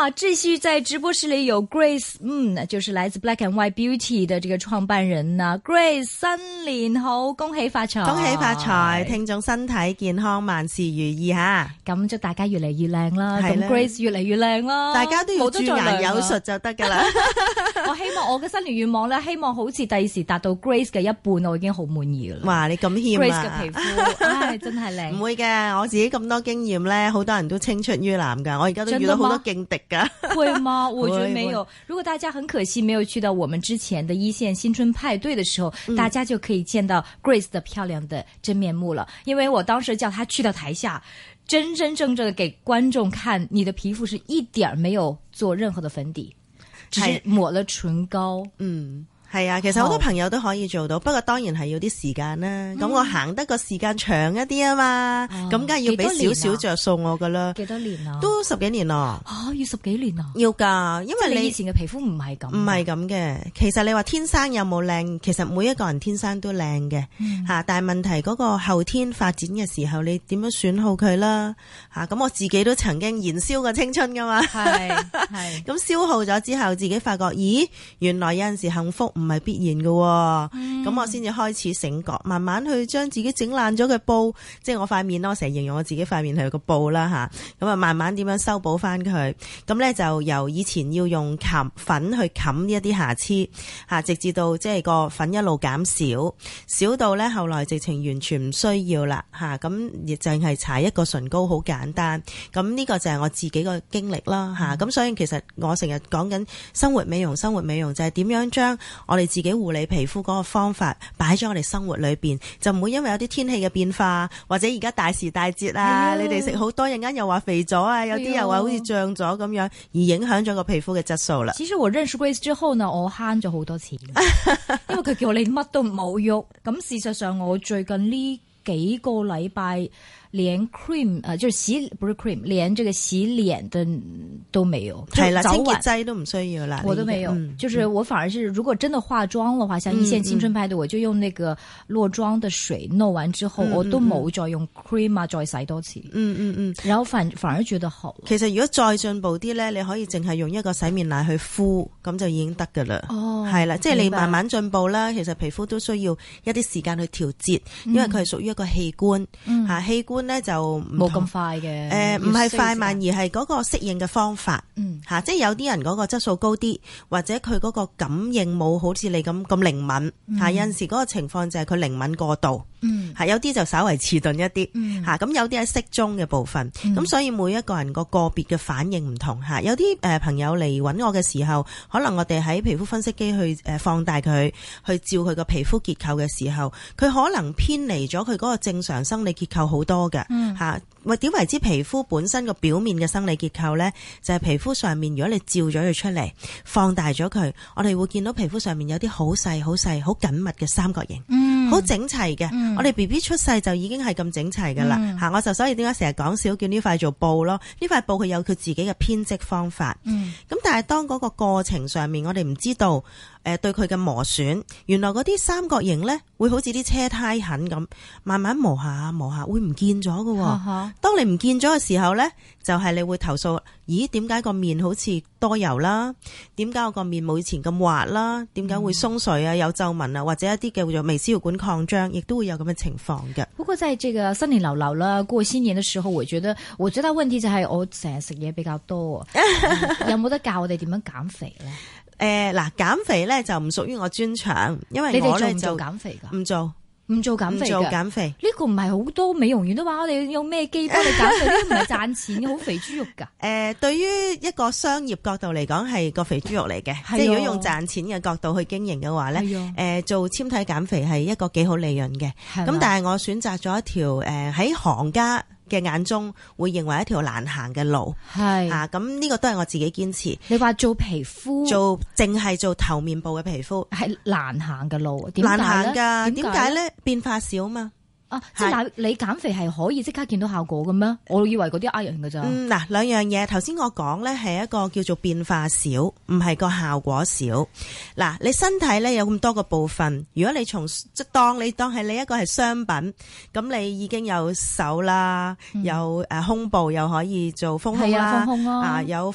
啊，繼續在直播室裏有 Grace， 就是來自 Black and White Beauty 的這個創辦人啊 Grace， 新年好，恭喜發財， 恭喜發財，聽眾身體健康，萬事如意吓。 咁祝大家越嚟越靚啦，咁 Grace 越嚟越靚啦， 大家都要駐顏有術就得噶啦。 我希望我嘅新年願望咧，希望好似第時達到 Grace 嘅一半，我已經好滿意噶啦。 哇，你咁謙啊 ！Grace 嘅皮膚，唉，真係靚。 唔會嘅，我自己咁多經驗咧，好多人都青出於藍噶，我而家都遇到好多勁敵噶。 會嗎？我覺得沒有。如果大家很可惜沒有去到我們之前的一線新春派對的時候，大家就可以見到 Grace 的漂亮的真面目了。因為我當時叫她去到台下，真真正正的給觀眾看，你的皮膚是一點沒有做任何的粉底，只是抹了唇膏。 係啊，其實好多朋友都可以做到，不過當然係要啲時間啦。咁我行得個時間長一啲啊嘛，咁梗係要俾少少着數我噶啦。 幾多年啊？ 都10幾年咯。 要10幾年啊？要㗎，因為你以前嘅皮膚唔係咁。唔係咁嘅。其實你話天生有冇靚，其實每一個人天生都靚嘅嚇，但係問題嗰個後天發展嘅時候，你點樣損耗佢啦嚇？咁我自己都曾經燃燒過青春噶嘛。係。咁消耗咗之後，自己發覺，咦，原來有陣時幸福唔係必然嘅，咁我先至開始醒覺，慢慢去將自己整爛咗嘅布，即係我塊面咯，我成日形容我自己塊面係個布啦吓，咁啊慢慢點樣修補翻佢，咁咧就由以前要用粉去冚呢一啲瑕疵吓，直至到即係個粉一路減少，少到咧後來直情完全唔需要啦吓，咁亦淨係搽一個唇膏好簡單，咁呢個就係我自己個經歷啦吓，咁所以其實我成日講緊生活美容就係點樣將我哋自己護理皮膚嗰個方法擺咗我哋生活裏邊，就唔會因為有啲天氣嘅變化，或者而家大時大節啊，你哋食好多，陣間又話肥咗啊，有啲又話好似脹咗咁樣，而影響咗個皮膚嘅質素啦。 其實我認識 Grace 之後呢，我慳咗好多錢，因為佢叫你乜都唔好喐。咁事實上我最近呢幾個禮拜連 cream 就是不是 cream， 連這個洗臉的都沒有， 係啦，清潔劑都唔需要啦， 我都沒有，就是我反而是如果真的化妝的話，像一線青春派對，我就用那個落妝的水弄完之後，我都冇再用 cream 啊，再洗多次，然後反而覺得好。 其實如果再進步啲咧，你可以淨係用一個洗面奶去敷，咁就已經得噶啦。係啦，即係你慢慢進步啦。其實皮膚都需要一啲時間去調節，因為佢係屬於一個器官吓，器官咧就冇咁快嘅， 唔係快慢，而係嗰個適應嘅方法，吓，即係有啲人嗰個質素高啲，或者佢嗰個感應冇好似你咁靈敏，吓，有陣時嗰個情況就係佢靈敏過度，吓，有啲就稍為遲鈍一啲，吓，咁有啲係適中嘅部分，咁所以每一個人個別嘅反應唔同，吓，有啲朋友嚟揾我嘅時候，可能我哋喺皮膚分析機去放大佢，去照佢個皮膚結構嘅時候，佢可能偏離咗佢嗰個正常生理結構好多嘅。點為之皮膚本身個表面嘅生理結構呢？就係皮膚上面，如果你照咗佢出嚟，放大咗佢，我哋會見到皮膚上面有啲好細、好細、好緊密嘅三角形，好整齊嘅。我哋 BB 出世就已經係咁整齊噶啦。我就所以點解成日講笑叫呢塊做布咯？呢塊布佢有佢自己嘅編織方法。咁但係當嗰個過程上面，我哋唔知道對佢嘅磨損，原來嗰啲三角形呢，會好似啲車胎痕咁，慢慢磨下磨下會唔見咗噶。當你唔見咗嘅時候呢，就係你會投訴，咦，點解個面好似多油啦？點解我個面冇以前咁滑啦？點解會鬆垂啊？有皺紋啊？或者一啲叫做微絲血管擴張，亦都會有咁嘅情況嘅。 不過在這個新年流流啦，過新年嘅時候，我覺得最大問題就係我成日食嘢比較多，有冇得教我哋點樣減肥呢？ 嗱，減肥咧就唔屬於我專長，因為我咧就做減肥噶，唔做減肥，呢個唔係好多美容院都話我哋用咩機幫你減肥，呢啲唔係賺錢嘅，好肥豬肉噶。 對於一個商業角度嚟講係個肥豬肉嚟嘅，即係如果用賺錢嘅角度去經營嘅話咧，做纖體減肥係一個幾好利潤嘅。咁但係我選擇咗一條喺行家嘅眼中會認為一條難行嘅路，咁呢個都係我自己堅持。 你話做皮膚， 淨係做頭面部嘅皮膚係難行嘅路， 難行噶？點解咧？變化少嘛。 即係你減肥係可以即刻見到效果嘅咩？我以為嗰啲呃人㗎咋。 嗱，兩樣嘢，頭先我講咧係一個叫做變化少，唔係個效果少。嗱，你身體咧有咁多個部分，如果你當係你一個係商品，咁你已經有手啦，有胸部又可以做豐胸啦，有腹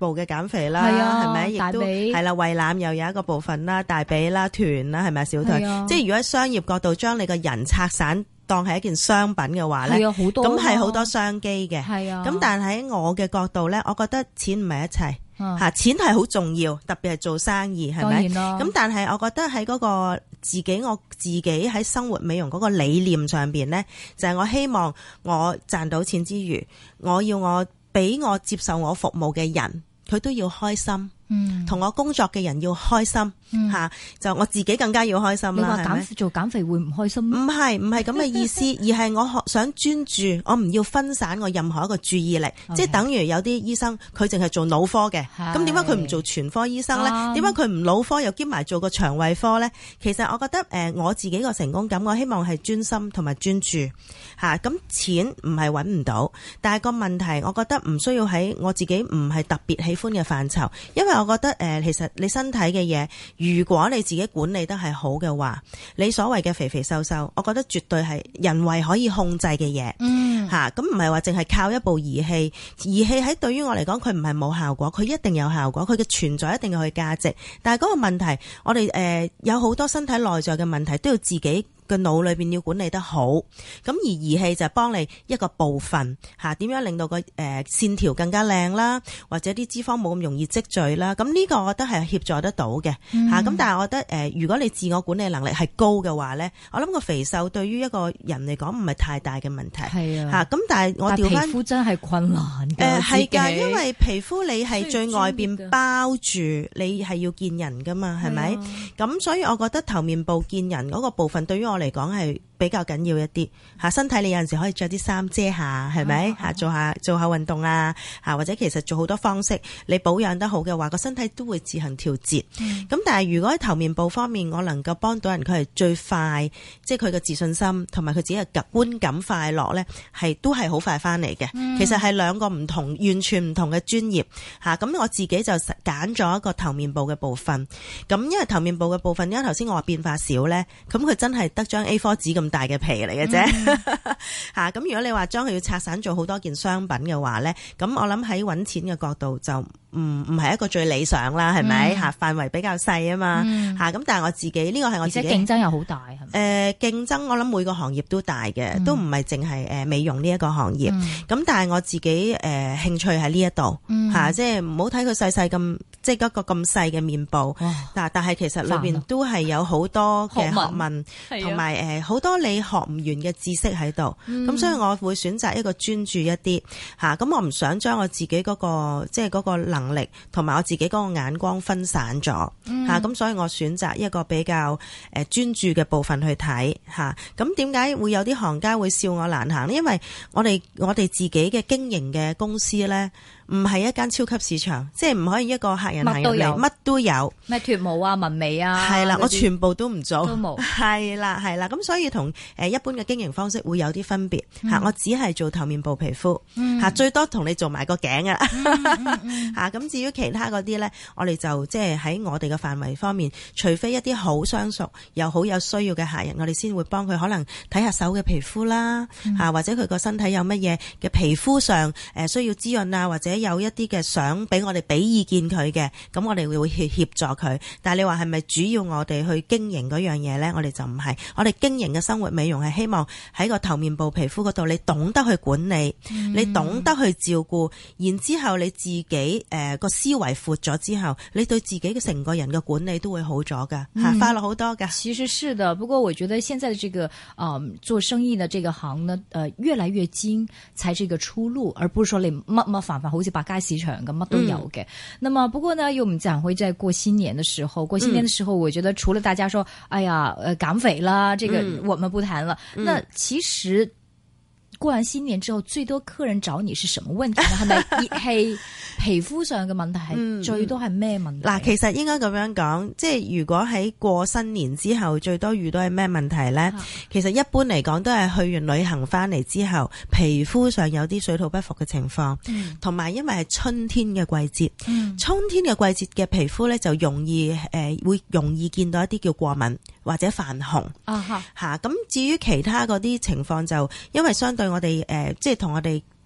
部嘅減肥啦，係咪？亦都係啦，胃腩又有一個部分啦，大髀啦、臀啦，係咪小腿？即係如果喺商業角度將你個人拆散當係一件商品嘅話咧，咁係好多商機嘅。咁但係喺我嘅角度咧，我覺得錢唔係一切。錢係好重要，特別係做生意，係咪？咁但係我覺得喺嗰個我自己喺生活美容嗰個理念上邊咧，就係我希望我賺到錢之餘，我俾我接受我服務嘅人，佢都要開心。同我工作嘅人要開心就我自己更加要開心啦。 你話做減肥會唔開心？唔係咁嘅意思，而係我想專注，我唔要分散我任何一個注意力。即係等於有啲醫生佢淨係做腦科嘅，咁點解佢唔做全科醫生咧？點解佢唔腦科又兼埋做個腸胃科咧？其實我覺得我自己個成功感，我希望係專心同埋專注咁錢唔係揾唔到，但係個問題，我覺得唔需要喺我自己唔係特別喜歡嘅範疇，因為我覺得其實你身體嘅嘢，如果你自己管理得係好嘅話，你所謂嘅肥肥瘦瘦，我覺得絕對係人為可以控制嘅嘢。咁唔係話淨係靠一部儀器，儀器喺對於我嚟講，佢唔係冇效果，佢一定有效果，佢嘅存在一定有佢價值。但係嗰個問題，我哋有好多身體內在嘅問題都要自己個腦裏邊要管理得好，咁而儀器就係幫你一個部分點樣令到個線條更加靚啦，或者啲脂肪冇咁容易積聚啦，咁呢個我覺得係協助得到嘅咁但係我覺得如果你自我管理能力係高嘅話咧，我諗個肥瘦對於一個人嚟講唔係太大嘅問題咁但係我調翻皮膚真係困難嘅係㗎，因為皮膚你係最外邊包住，你係要見人㗎嘛，係咪？咁所以我覺得頭面部見人嗰個部分對於我嚟講係比較緊要一啲身體，你有陣時可以着啲衫遮下，係咪做下運動或者其實做好多方式，你保養得好嘅話，個身體都會自行調節。咁但係如果喺頭面部方面，我能夠幫到人，佢係最快，即係佢嘅自信心同埋佢自己嘅觀感快樂咧，都係好快翻嚟嘅。其實係兩個唔同，完全唔同嘅專業咁我自己就揀咗一個頭面部嘅部分。咁因為頭面部嘅部分，因為頭先我話變化少咧，咁佢真係得張 A4 紙咁大嘅皮嚟嘅啫咁如果你話將佢要拆散做好多件商品嘅話咧，咁我諗喺揾錢嘅角度就唔係一個最理想啦，係咪範圍比較細啊嘛咁但係我自己呢個係我自己， 而且競爭又好大係咪？ 競爭我諗每個行業都大嘅，都唔係淨係美容呢一個行業咁但係我自己興趣喺呢一度即係唔好睇佢細細咁，即係一個咁細嘅面部但係其實裏邊都係有好多嘅學問同埋好多你學唔完嘅知識喺度咁所以我會選擇一個專注一啲咁我唔想將我自己嗰個即係嗰個能力同埋我自己嗰個眼光分散咗咁所以我選擇一個比較專注嘅部分去睇咁點解會有啲行家會笑我難行呢？因為我哋自己嘅經營嘅公司咧，唔係一間超級市場，即係唔可以一個客人行入嚟乜都有，咩脫毛啊、紋眉啊， 係啦，我全部都唔做， 都冇， 係啦，咁所以同一般嘅經營方式會有啲分別我只係做頭面部皮膚最多同你做埋個頸咁至於其他嗰啲咧，我哋就即係喺我哋嘅範圍方面，除非一啲好相熟又好有需要嘅客人，我哋先會幫佢可能睇下手嘅皮膚啦或者佢個身體有乜嘢嘅皮膚上需要滋潤啊，或者有一啲嘅想俾我哋俾意見佢嘅，咁我哋會協助佢。但係你話係咪主要我哋去經營嗰樣嘢咧？我哋就唔係，我哋經營嘅生活美容係希望喺個頭面部皮膚嗰度，你懂得去管理，你懂得去照顧，然之後你自己個思維闊咗之後，你對自己嘅成個人嘅管理都會好咗噶快樂好多噶。 其實是的，不過我覺得現在的這個做生意的這個行呢，越來越精才是一個出路，而不是說你乜煩好似百佳市場咁乜都有嘅。那麼不過呢，又唔講會在過新年的時候，過新年的時候，我覺得除了大家說，哎呀，減肥啦，這個我們不談了。那其實過完新年之後，最多客人找你是什麼問題呢？係咪熱氣、皮膚上嘅問題係最多係咩問題？ 嗱，其實應該咁樣講，即係如果喺過新年之後，最多遇到係咩問題呢？其實一般嚟講都係去完旅行翻嚟之後，皮膚上有啲水土不服嘅情況，同埋因為係春天嘅季節，春天嘅季節嘅皮膚咧就會容易見到一啲叫過敏或者泛紅咁至於其他嗰啲情況就因為相對我哋即係同我哋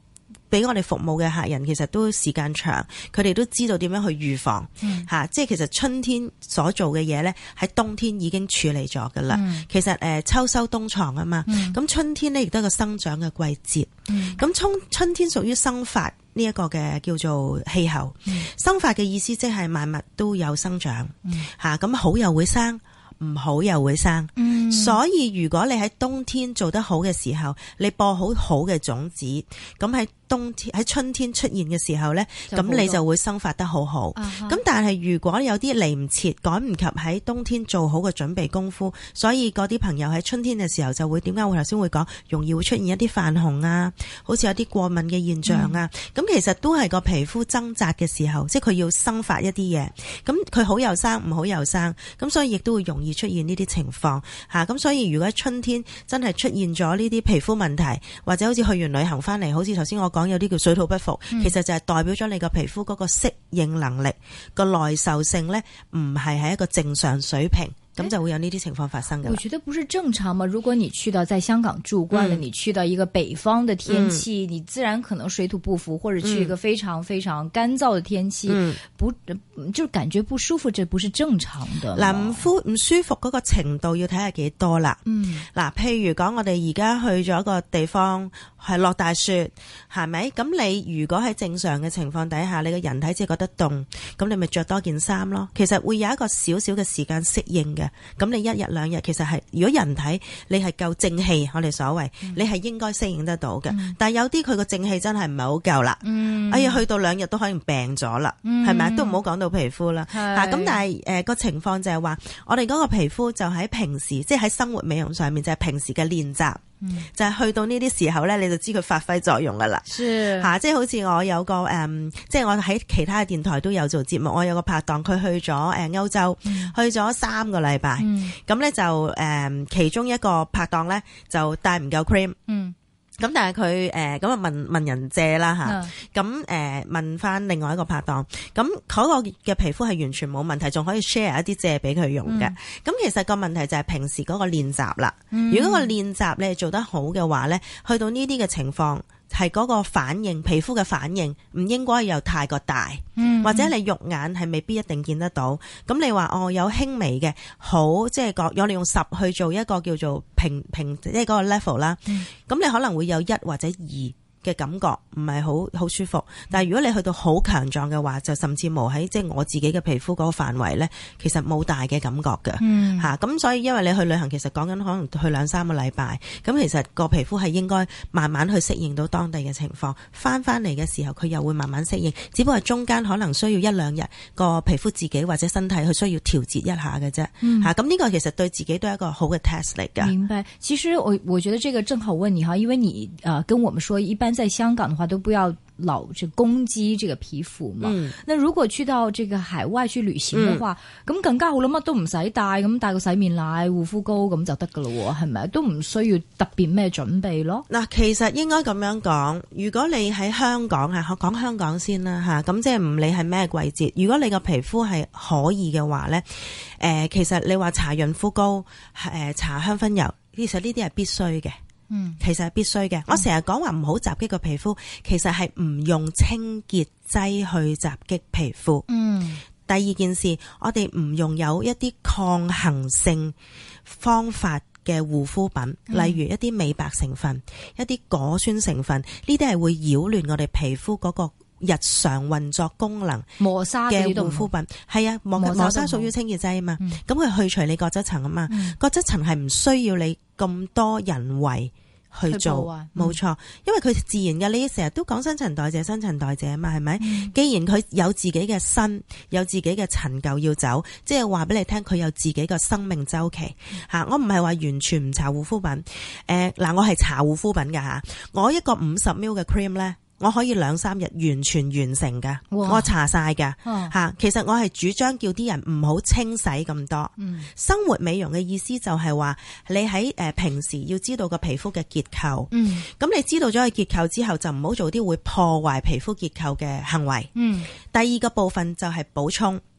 俾我哋服務嘅客人其實都時間長，佢哋都知道點樣去預防吓，即係其實春天所做嘅嘢咧，喺冬天已經處理咗噶啦。其實秋收冬藏啊嘛，咁春天咧亦都係個生長嘅季節。咁春天屬於生發呢一個嘅叫做氣候。生發嘅意思即係萬物都有生長吓，咁好又會生，唔好又會生。所以如果你喺冬天做得好嘅時候，你播好好嘅種子，咁喺春天出現嘅時候咧，咁你就會生發得好好。咁但係如果有啲嚟唔切，趕唔及喺冬天做好個準備功夫，所以嗰啲朋友喺春天嘅時候就會點解我頭先會講容易會出現一啲泛紅啊，好似有啲過敏嘅現象啊。咁其實都係個皮膚掙扎嘅時候，即係佢要生發一啲嘢。咁佢好又生，唔好又生，咁所以亦都會容易出現呢啲情況吓。咁所以如果春天真係出現咗呢啲皮膚問題，或者好似去完旅行翻嚟，好似頭先我講有啲叫水土不服，其實就係代表咗你個皮膚嗰個適應能力個耐受性咧，唔係喺一個正常水平。咁就會有呢啲情況發生嘅。 我覺得不是正常嘛。如果你去到在香港住慣了，你去到一個北方的天氣，你自然可能水土不服，或者去一個非常非常乾燥的天氣，就感覺不舒服，這不是正常的。 嗱，唔舒服嗰個程度要睇下幾多啦。嗱，譬如講我哋而家去咗一個地方係落大雪，係咪？咁你如果喺正常嘅情況底下，你個人體只係覺得凍，咁你咪着多件衫咯。其實會有一個少少嘅時間適應嘅。咁你一日兩日其實係，如果人體你係夠正氣，我哋所謂，你係應該適應得到嘅。但係有啲佢個正氣真係唔係好夠啦。哎呀，去到2日都可能病咗啦，係咪？都唔好講到皮膚啦。咁但係個情況就係話，我哋嗰個皮膚就喺平時，即係喺生活美容上面就係平時嘅練習。就係去到呢啲時候咧，你就知佢發揮作用噶啦。吓，即係好似我有個即係我喺其他嘅電台都有做節目，我有個拍檔，佢去咗歐洲，去咗3個禮拜。咁咧就其中一個拍檔咧就帶唔夠 cream。咁但係佢咁啊問人借啦吓，咁問翻另外一個拍檔，咁嗰個嘅皮膚係完全冇問題，仲可以 share 一啲借俾佢用嘅。咁其實個問題就係平時嗰個練習啦。如果個練習你係做得好嘅話咧，去到呢啲嘅情況，係嗰個反應，皮膚嘅反應唔應該有太過大，或者你肉眼係未必一定見得到。咁你話有輕微嘅好，即係我哋用10去做一個叫做平即係嗰個 level 啦。咁你可能會有1或者2嘅感覺唔係好舒服，但係如果你去到好強壯嘅話，就甚至無喺即係我自己嘅皮膚嗰個範圍咧，其實冇大嘅感覺嘅吓。咁所以因為你去旅行，其實講緊可能去2-3個禮拜，咁其實個皮膚係應該慢慢去適應到當地嘅情況，翻嚟嘅時候佢又會慢慢適應，只不過中間可能需要1-2日個皮膚自己或者身體去需要調節一下嘅啫吓。咁呢個其實對自己都係一個好嘅 test 嚟㗎。 明白。其實我覺得這個正好問你哈，因為你跟我們說一般在香港的話都不要老去攻擊這個皮膚嘛。那如果去到這個海外去旅行嘅話，咁更加好啦，乜都唔使帶，咁帶個洗面奶、護膚膏咁就得噶咯，係咪？都唔需要特別咩準備咯。 嗱，其實應該咁樣講，如果你喺香港講香港先啦吓，咁即係唔理係咩季節，如果你個皮膚係可以嘅話咧，其實你話搽潤膚膏、搽香薰油，其實呢啲係必須嘅。其實係必須嘅。我成日講話唔好襲擊個皮膚，其實係唔用清潔劑去襲擊皮膚。第二件事，我哋唔用有一啲抗衡性方法嘅護膚品，例如一啲美白成分、一啲果酸成分，呢啲係會擾亂我哋皮膚嗰個日常運作功能。 磨砂嘅護膚品係啊，磨砂屬於清潔劑啊嘛，咁佢去除你角質層啊嘛，角質層係唔需要你咁多人為去做，冇錯，因為佢自然嘅。你成日都講新陳代謝啊嘛，係咪？既然佢有自己嘅身，有自己嘅陳舊要走，即係話俾你聽，佢有自己嘅生命周期吓。我唔係話完全唔搽護膚品，我係搽護膚品噶吓。我一個50ml嘅 cream 咧，我可以2-3日完全完成噶，我搽晒噶吓。其實我係主張叫啲人唔好清洗咁多。生活美容嘅意思就係話，你喺平時要知道個皮膚嘅結構。咁你知道咗個結構之後，就唔好做啲會破壞皮膚結構嘅行為。第二個部分就係補充。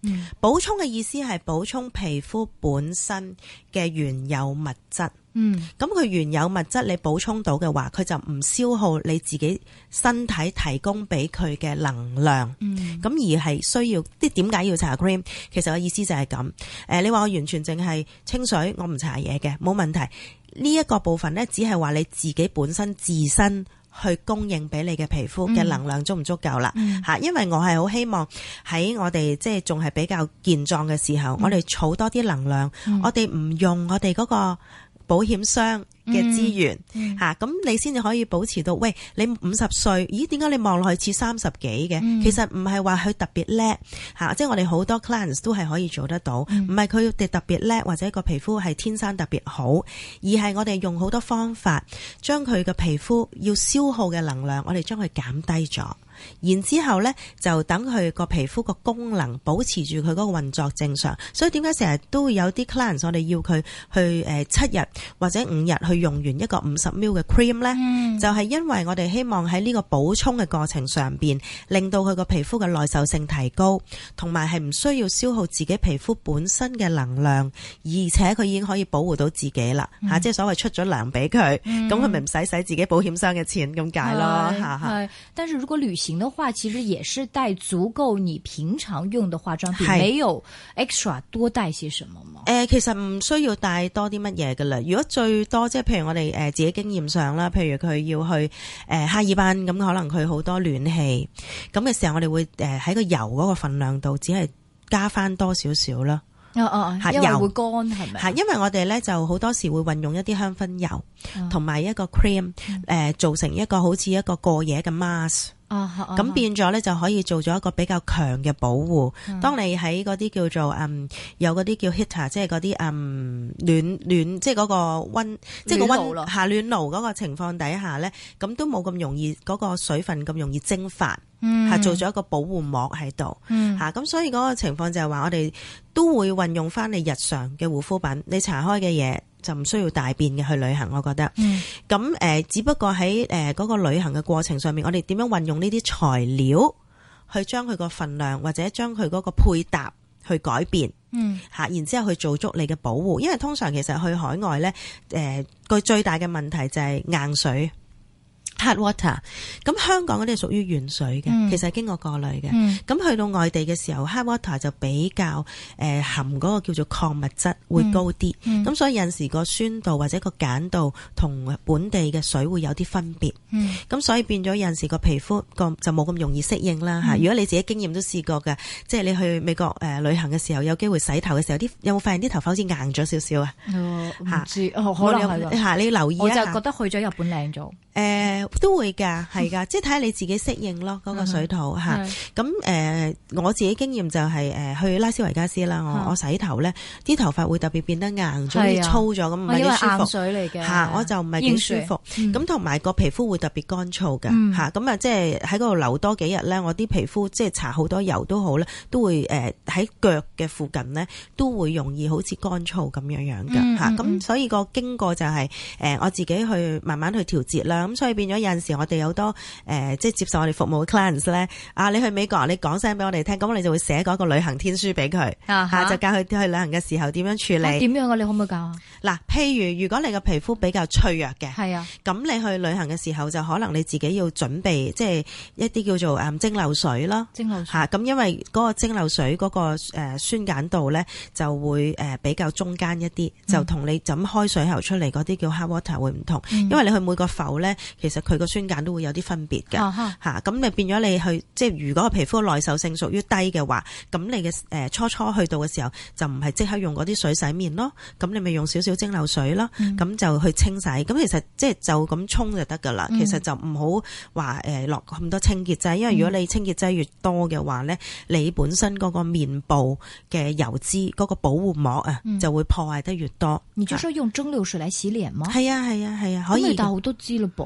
補充嘅意思係補充皮膚本身嘅原有物質。咁佢原有物質你補充到嘅話，佢就唔消耗你自己身體提供俾佢嘅能量。咁而係需要啲點解要搽 cream？其實個意思就係咁。你話我完全淨係清水，我唔搽嘢嘅，冇問題。呢一個部分呢，只係話你自己本身自身去供應俾你嘅皮膚嘅能量足唔足夠啦？因為我係好希望喺我哋即係仲係比較健壯嘅時候，我哋儲多啲能量，我哋唔用我哋嗰個保險箱嘅資源咁你先至可以保持到。喂，你50歲，咦？點解你望落去似30幾嘅？其實唔係話佢特別叻即係我哋好多 clients 都係可以做得到，唔係佢哋特別叻或者個皮膚係天生特別好，而係我哋用好多方法將佢嘅皮膚要消耗嘅能量，我哋將佢減低咗。然之後呢，就等佢個皮膚個功能保持住佢嗰個運作正常。所以點解成日都會有啲 clients 我哋要佢去7日或者5日去用完一個50ml 嘅 cream 呢？就係因為我哋希望喺呢個補充嘅過程上邊，令到佢個皮膚嘅耐受性提高，同埋係唔需要消耗自己皮膚本身嘅能量，而且佢已經可以保護到自己啦即係所謂出咗糧俾佢，咁佢咪唔使自己保險箱嘅錢咁解咯但是如果旅行的話，其實也是帶足夠你平常用的化妝品，沒有 extra 多帶些什麼嗎？ 其實唔需要帶多啲乜嘢噶啦。如果最多即係譬如我哋自己經驗上啦，譬如佢要去哈爾濱咁，可能佢好多暖氣咁嘅時候，我哋會喺個油嗰個份量度只係加翻多少少啦。 因為會乾係咪？ 因為我哋咧就好多時會運用一啲香薰油同埋一個 cream 做成一個好似一個過夜嘅 mask。咁變咗咧就可以做咗一個比較強嘅保護。當你喺嗰啲叫做有嗰啲叫 heater， 即係嗰啲暖即係嗰個溫，即係個溫暖爐嗰個情況底下咧，咁都冇咁容易嗰個水分咁容易蒸發，做咗一個保護膜喺度。咁所以嗰個情況就係話我哋都會運用翻你日常嘅護膚品，你搽開嘅嘢就唔需要大變嘅去旅行，我覺得。咁只不過喺嗰個旅行嘅過程上面，我哋點樣運用呢啲材料去將佢個份量或者將佢嗰個配搭去改變，然之後去做足你嘅保護。因為通常其實去海外咧，個最大嘅問題就係硬水。hard water， 咁香港嗰啲係屬於軟水嘅，其實係經過過濾嘅。咁去到外地嘅時候 hard water 就比較含嗰個叫做礦物質會高啲，咁所以有陣時個酸度或者個鹼度同本地嘅水會有啲分別。咁所以變咗有陣時個皮膚就冇咁容易適應啦。如果你自己經驗都試過嘅，即係你去美國旅行嘅時候，有機會洗頭嘅時候，有冇發現啲頭髮好似硬咗少少啊？ 唔知，可能係你要留意一下。 我就覺得去咗日本靚咗。 都會㗎，係㗎，即係睇下你自己適應咯，嗰個水土嚇。咁我自己經驗就係去拉斯維加斯啦，我洗頭咧，啲頭髮會特別變得硬咗，啲粗咗咁，唔係幾舒服。因為硬水嚟嘅嚇，我就唔係幾舒服。咁同埋個皮膚會特別乾燥嘅嚇，咁啊即係喺嗰度留多幾日咧，我啲皮膚即係搽好多油都好咧，都會喺腳嘅附近咧都會容易好似乾燥咁樣嘅嚇。咁所以個經過就係我自己去慢慢去調節啦。咁所以變咗有陣時我哋有好多即係接受我哋服務嘅 clients 咧，你去美國你講聲俾我哋聽，咁我哋就會寫嗰個旅行天書俾佢，就教佢去旅行嘅時候點樣處理。點樣啊？你可唔可以教啊？嗱，譬如果你個皮膚比較脆弱嘅，係啊，咁你去旅行嘅時候就可能你自己要準備即係一啲叫做蒸餾水啦，蒸餾水咁因為嗰個蒸餾水嗰個酸鹼度咧就會比較中間一啲，就同你就咁開水喉出嚟嗰啲叫 hard water 會唔同，因為你去每個浮咧，其實佢個酸鹼都會有啲分別嘅咁咪變咗你去即係如果個皮膚耐受性屬於低嘅話，咁你嘅初去到嘅時候就唔係即刻用嗰啲水洗面咯，咁你咪用少少蒸餾水咯，咁就去清洗。咁其實即係就咁沖就得噶啦，其實就唔好話落咁多清潔劑，因為如果你清潔劑越多嘅話咧，你本身嗰個面部嘅油脂嗰個保護膜就會破壞得越多。 你就說用蒸餾水嚟洗臉嗎？ 係啊，可以。 但好多支咯噃。 其實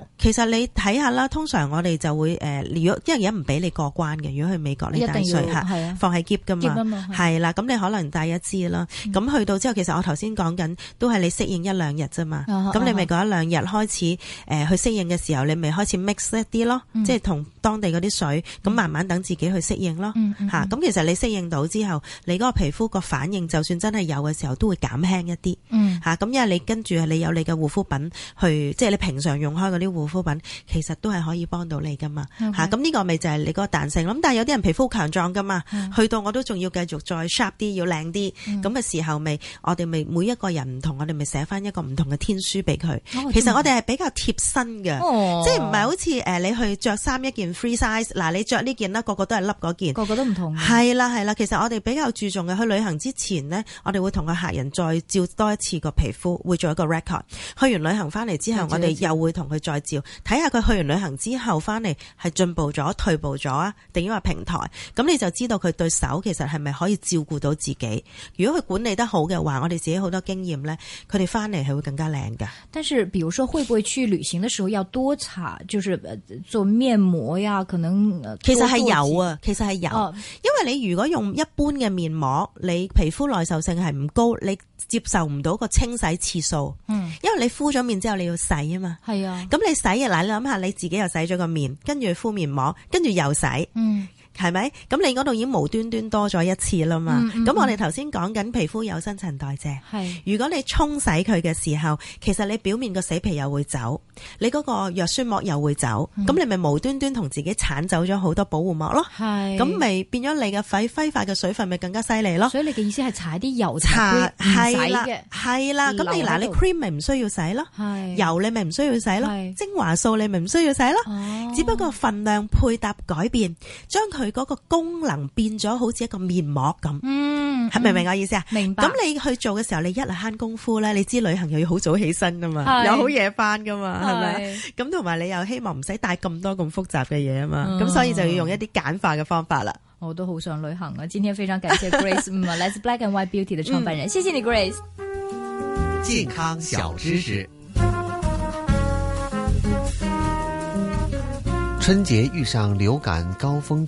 你睇下啦，通常我哋就會如果因為而家唔俾你過關嘅，如果去美國你帶水放喺篋噶嘛，係啦，咁你可能帶一支啦，咁去到之後其實我頭先講緊都係你適應1-2日啫嘛，咁你咪嗰1-2日開始去適應嘅時候，你咪開始 mix 一啲咯，即係同當地嗰啲水，咁慢慢等自己去適應咯，咁其實你適應到之後，你嗰個皮膚個反應就算真係有嘅時候都會減輕一啲，咁因為你跟住你有你嘅護膚品去，即係你平常用開嗰啲護膚品，其實都係可以幫到你噶嘛，咁呢個咪就係你嗰個彈性咯。咁但係有啲人皮膚強壯噶嘛，去到我都仲要繼續再 sharp 啲，要靚啲，咁嘅時候咪我哋咪每一個人唔同，我哋咪寫翻一個唔同嘅天書俾佢。其實我哋係比較貼身嘅，即係唔係好似你去着衫一件 free size， 嗱你着呢件啦，個個都係笠嗰件， 個個都唔同。 係啦，其實我哋比較注重嘅，去旅行之前呢，我哋會同個客人再照多一次個皮膚，會做一個 record。去完旅行翻嚟之後，我哋又會同佢再照，睇下佢去完旅行之後翻嚟係進步咗、退步咗啊，定因為平台，咁你就知道佢對手其實係咪可以照顧到自己。如果佢管理得好嘅話，我哋自己好多經驗呢，佢哋翻嚟係會更加靚㗎。 但是，比如說，會不會去旅行的時候要多擦，就是做面膜呀？可能其實係有啊，其實係有，因為你如果用一般嘅面膜，你皮膚耐受性係唔高，你接受唔到個清洗次數，因為你敷咗面之後你要洗啊嘛，係啊，咁你洗嘅嗱，你諗下你自己又洗咗個面，跟住敷面膜，跟住又洗，係咪？咁你嗰度已經無端端多咗一次啦嘛。咁我哋頭先講緊皮膚有新陳代謝，如果你沖洗佢嘅時候，其實你表面個死皮又會走，你嗰個藥酸膜又會走，咁你咪無端端同自己鏟走咗好多保護膜咯。咁咪變咗你嘅揮發嘅水分咪更加犀利咯。所以你嘅意思係搽啲油搽唔洗嘅，係啦。咁你嗱你 cream 咪唔需要洗咯，油你咪唔需要洗咯，精華素你咪唔需要洗咯。只不過份量配搭改變，將佢嗰個功能變咗好似一個面膜咁，係明唔明我意思啊？明白。咁你去做嘅時候，你一係慳功夫咧，你知旅行又要好早起身噶嘛，又好夜翻噶嘛，係咪？咁同埋你又希望唔使帶咁多咁複雜嘅嘢啊嘛，咁所以就要用一啲簡化嘅方法啦。我都好想旅行啊！今天非常感謝 Grace，Let's Black and White Beauty 的創辦人，謝謝你 Grace。健康小知識。 春節遇上流感高峰期。